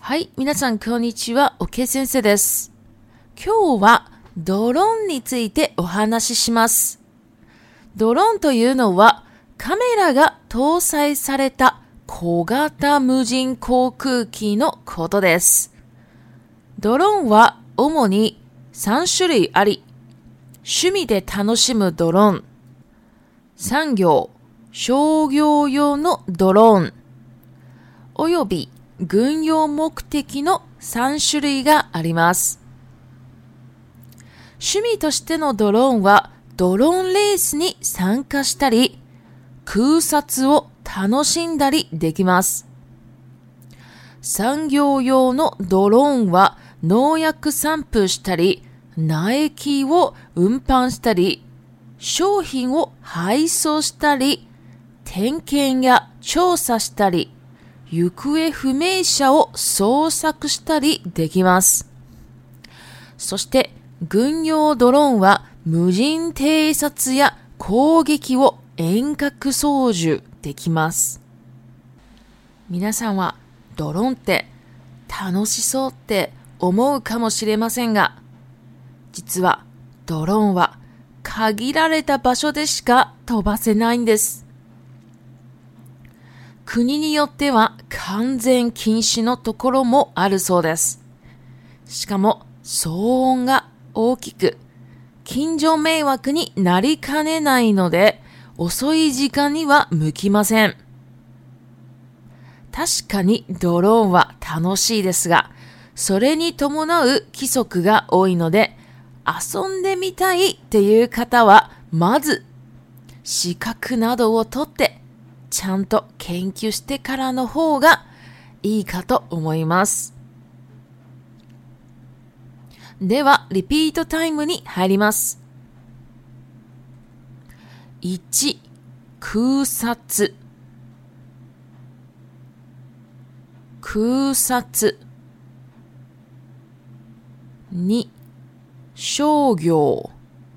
はい、皆さんこんにちは、OK先生です。今日はドローンについてお話しします。ドローンというのはカメラが搭載された小型無人航空機のことです。ドローンは主に3種類あり、趣味で楽しむドローン、産業、商業用のドローン、および軍用目的の3種類があります。趣味としてのドローンはドローンレースに参加したり、空撮を楽しんだりできます。産業用のドローンは農薬散布したり、苗木を運搬したり、商品を配送したり、点検や調査したり、行方不明者を捜索したりできます。そして軍用ドローンは無人偵察や攻撃を遠隔操縦できます。皆さんはドローンって楽しそうって思うかもしれませんが、実はドローンは限られた場所でしか飛ばせないんです。国によっては完全禁止のところもあるそうです。しかも騒音が大きく、近所迷惑になりかねないので、遅い時間には向きません。確かにドローンは楽しいですが、それに伴う規則が多いので、遊んでみたいっていう方は、まず資格などを取って、ちゃんと研究してからの方がいいかと思います。では、リピートタイムに入ります。1、空撮。空撮。2、商業。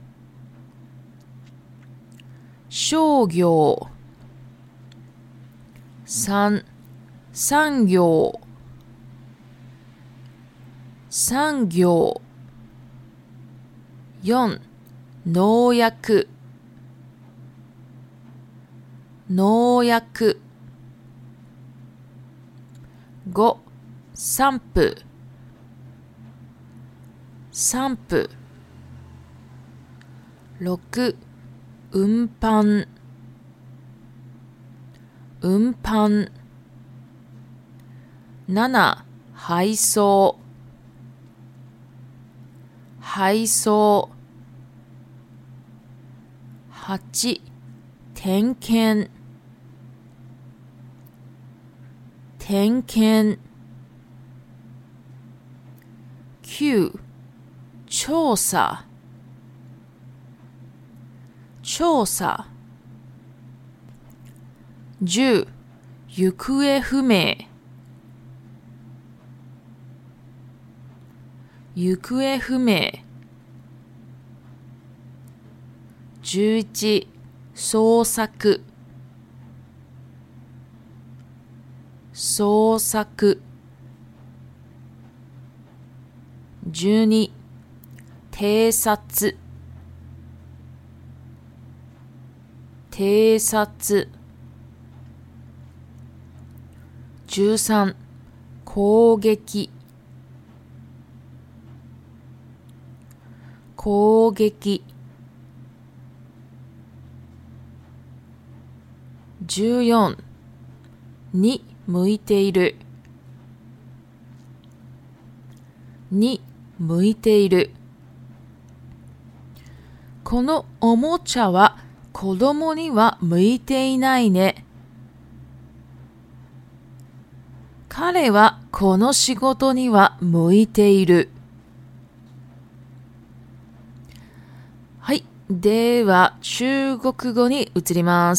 商業。3、産業。産業。4、農薬。農薬。5、散布。散布。6、運搬。運搬。7、配送。配送。8、点検。点検。9、調査。調査。10、行方不明。行方不明。11、捜索。捜索。12、偵察。偵察。13、攻撃。攻撃。14、に向いている。に向いている。このおもちゃは子供には向いていないね。彼はこの仕事には向いている。はい。では、中国語に移ります。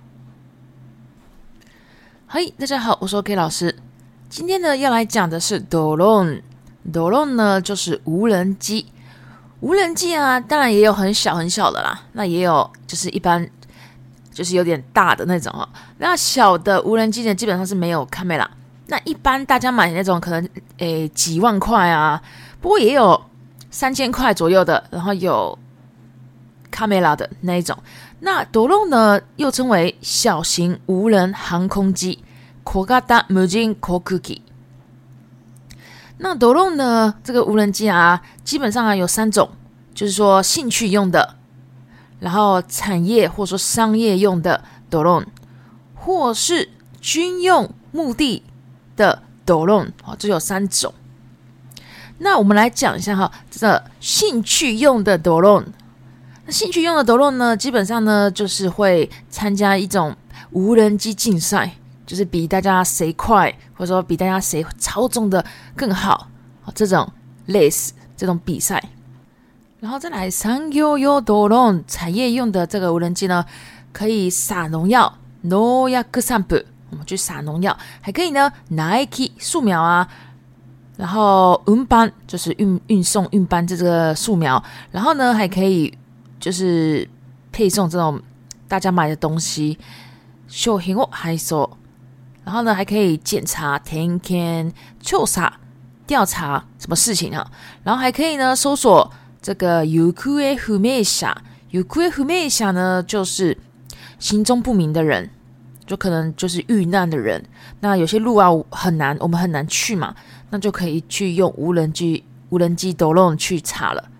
嗨，大家好，我是 OK 老师。今天呢，要来讲的是 drone。drone 呢，就是无人机。无人机啊，当然也有很小很小的啦，那也有就是一般就是有点大的那种哦。那小的无人机呢，基本上是没有 camera。 那一般大家买那种可能几万块啊，不过也有3000块左右的，然后有 camera 的那一种。那 drone 呢又称为小型无人航空机 小型無人航空機。那 drone 呢这个无人机啊，基本上有3种，就是说兴趣用的，然后产业或者说商业用的 drone， 或是军用目的的 drone， 这有3种。那我们来讲一下哈，这个兴趣用的 drone。那兴趣用的 drone 呢，基本上呢就是会参加一种无人机竞赛，就是比大家谁快，或者说比大家谁操纵的更好，这种类似这种比赛。然后再来産業用 drone 产业用的这个无人机呢，可以撒农药，農薬散布，我们去撒农药，还可以呢苗木树苗啊，然后運搬就是运送运搬这个树苗，然后呢还可以就是配送这种大家买的东西，商品を配送，然后呢还可以检查点検調査调查什么事情啊，然后还可以呢搜索这个行方不明者，行方不明者呢就是行踪不明的人，就可能就是遇难的人。那有些路啊很难，我们很难去嘛，那就可以去用无人机 drone 去查了。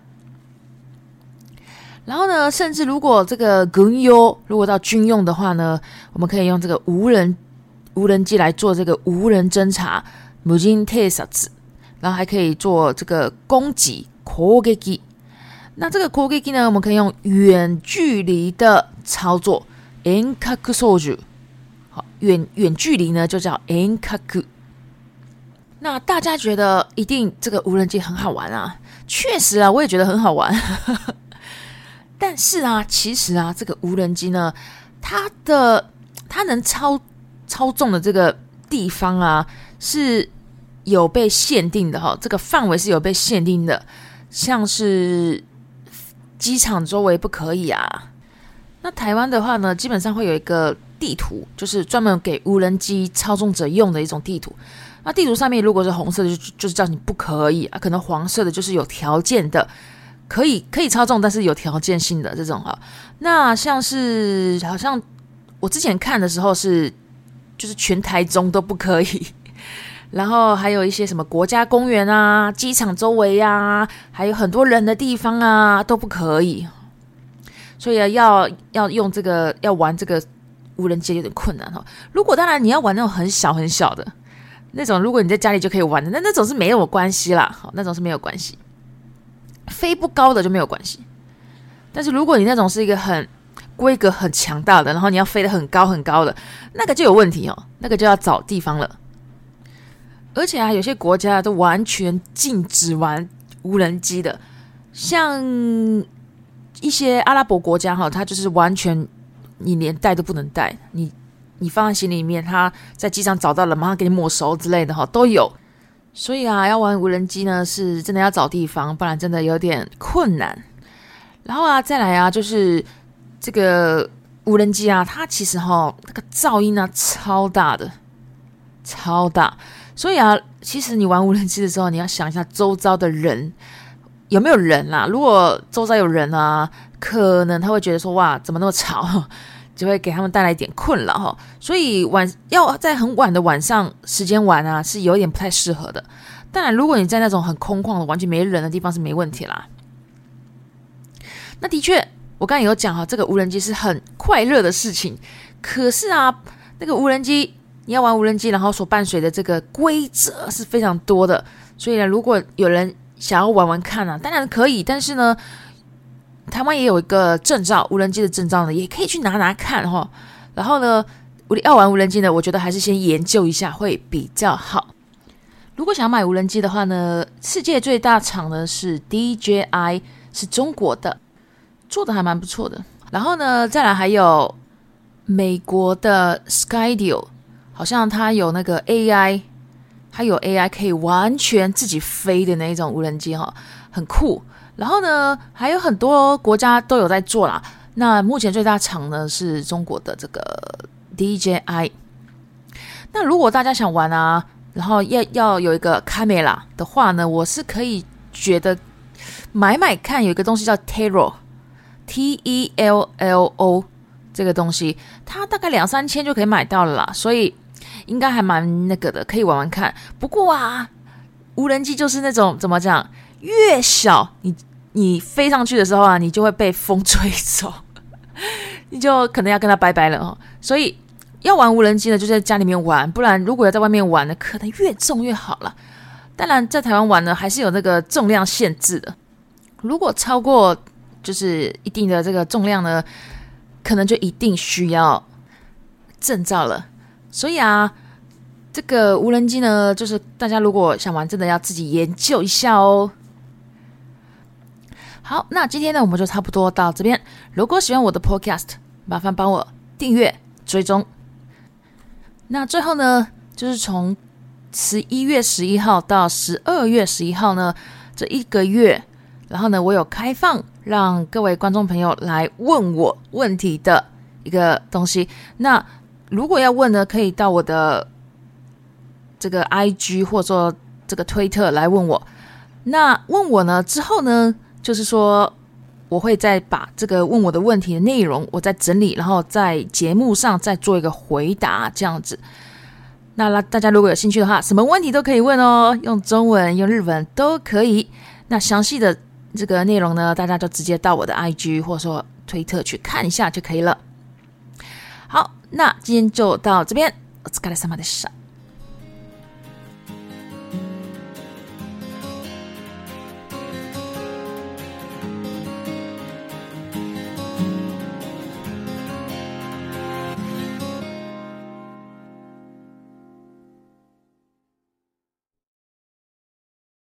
然后呢，甚至如果这个軍用，如果到军用的话呢，我们可以用这个无人机来做这个无人侦察，無人偵察，然后还可以做这个攻击攻撃。那这个攻撃呢，我们可以用远距离的操作，遠隔操作。好，远距离呢就叫遠隔。那大家觉得一定这个无人机很好玩啊？确实啊，我也觉得很好玩。但是啊，其实啊，这个无人机呢，它能操纵的这个地方啊，是有被限定的哈，这个范围是有被限定的，像是机场周围不可以啊。那台湾的话呢，基本上会有一个地图，就是专门给无人机操纵者用的一种地图。那地图上面如果是红色的，就是叫你不可以啊，可能黄色的就是有条件的。可以操纵，但是有条件性的这种哈。那像是好像我之前看的时候就是全台中都不可以，然后还有一些什么国家公园啊、机场周围啊，还有很多人的地方啊都不可以。所以要用这个要玩这个无人机有点困难哈。如果当然你要玩那种很小很小的那种，如果你在家里就可以玩的，那种是没有关系啦，好，那种是没有关系。飞不高的就没有关系，但是如果你那种是一个很规格很强大的，然后你要飞得很高很高的，那个就有问题哦，那个就要找地方了。而且啊，有些国家都完全禁止玩无人机的，像一些阿拉伯国家哈，它就是完全你连带都不能带，你放在行李里面，它在机场找到了，马上给你没收之类的哈，都有。所以啊，要玩无人机呢，是真的要找地方，不然真的有点困难。然后啊，再来啊，就是这个无人机啊，它其实那个噪音啊超大的，超大。所以啊，其实你玩无人机的时候，你要想一下周遭的人有没有人啦。如果周遭有人啊，可能他会觉得说哇，怎么那么吵？就会给他们带来一点困扰哈，所以要在很晚的晚上时间玩啊，是有点不太适合的。当然，如果你在那种很空旷的、完全没人的地方是没问题啦。那的确，我刚才有讲哈，这个无人机是很快乐的事情。可是啊，那个无人机你要玩无人机，然后所伴随的这个规则是非常多的。所以呢，如果有人想要玩玩看啊，当然可以，但是呢。台湾也有一个证照，无人机的证照呢，也可以去拿看哈。然后呢，要玩无人机呢，我觉得还是先研究一下会比较好。如果想买无人机的话呢，世界最大厂呢是 DJI， 是中国的，做的还蛮不错的。然后呢，再来还有美国的 Skydio， 好像它有那个 AI， 它有 AI 可以完全自己飞的那一种无人机哈，很酷。然后呢，还有很多国家都有在做啦。那目前最大厂呢是中国的这个 DJI。那如果大家想玩啊， 然后要有一个 camera 的话呢，我是可以觉得买看，有一个东西叫 Tello Tello 这个东西，它大概2-3千就可以买到了啦，所以应该还蛮那个的，可以玩看。不过啊，无人机就是那种怎么讲，越小你飞上去的时候啊，你就会被风吹走，你就可能要跟它拜拜了哦。所以要玩无人机呢，就在家里面玩，不然如果要在外面玩呢，可能越重越好了。当然，在台湾玩呢，还是有那个重量限制的。如果超过就是一定的这个重量呢，可能就一定需要证照了。所以啊，这个无人机呢，就是大家如果想玩，真的要自己研究一下哦。好，那今天呢，我们就差不多到这边。如果喜欢我的 podcast， 麻烦帮我订阅、追踪。那最后呢，就是从11月11号到12月11号呢，这1个月，然后呢，我有开放让各位观众朋友来问我问题的一个东西。那如果要问呢，可以到我的这个 IG 或者说这个推特来问我。那问我呢之后呢，就是说我会再把这个问我的问题的内容我再整理，然后在节目上再做一个回答这样子。那大家如果有兴趣的话，什么问题都可以问哦，用中文用日文都可以。那详细的这个内容呢，大家就直接到我的 IG 或者说推特去看一下就可以了。好，那今天就到这边。お疲れ様でした。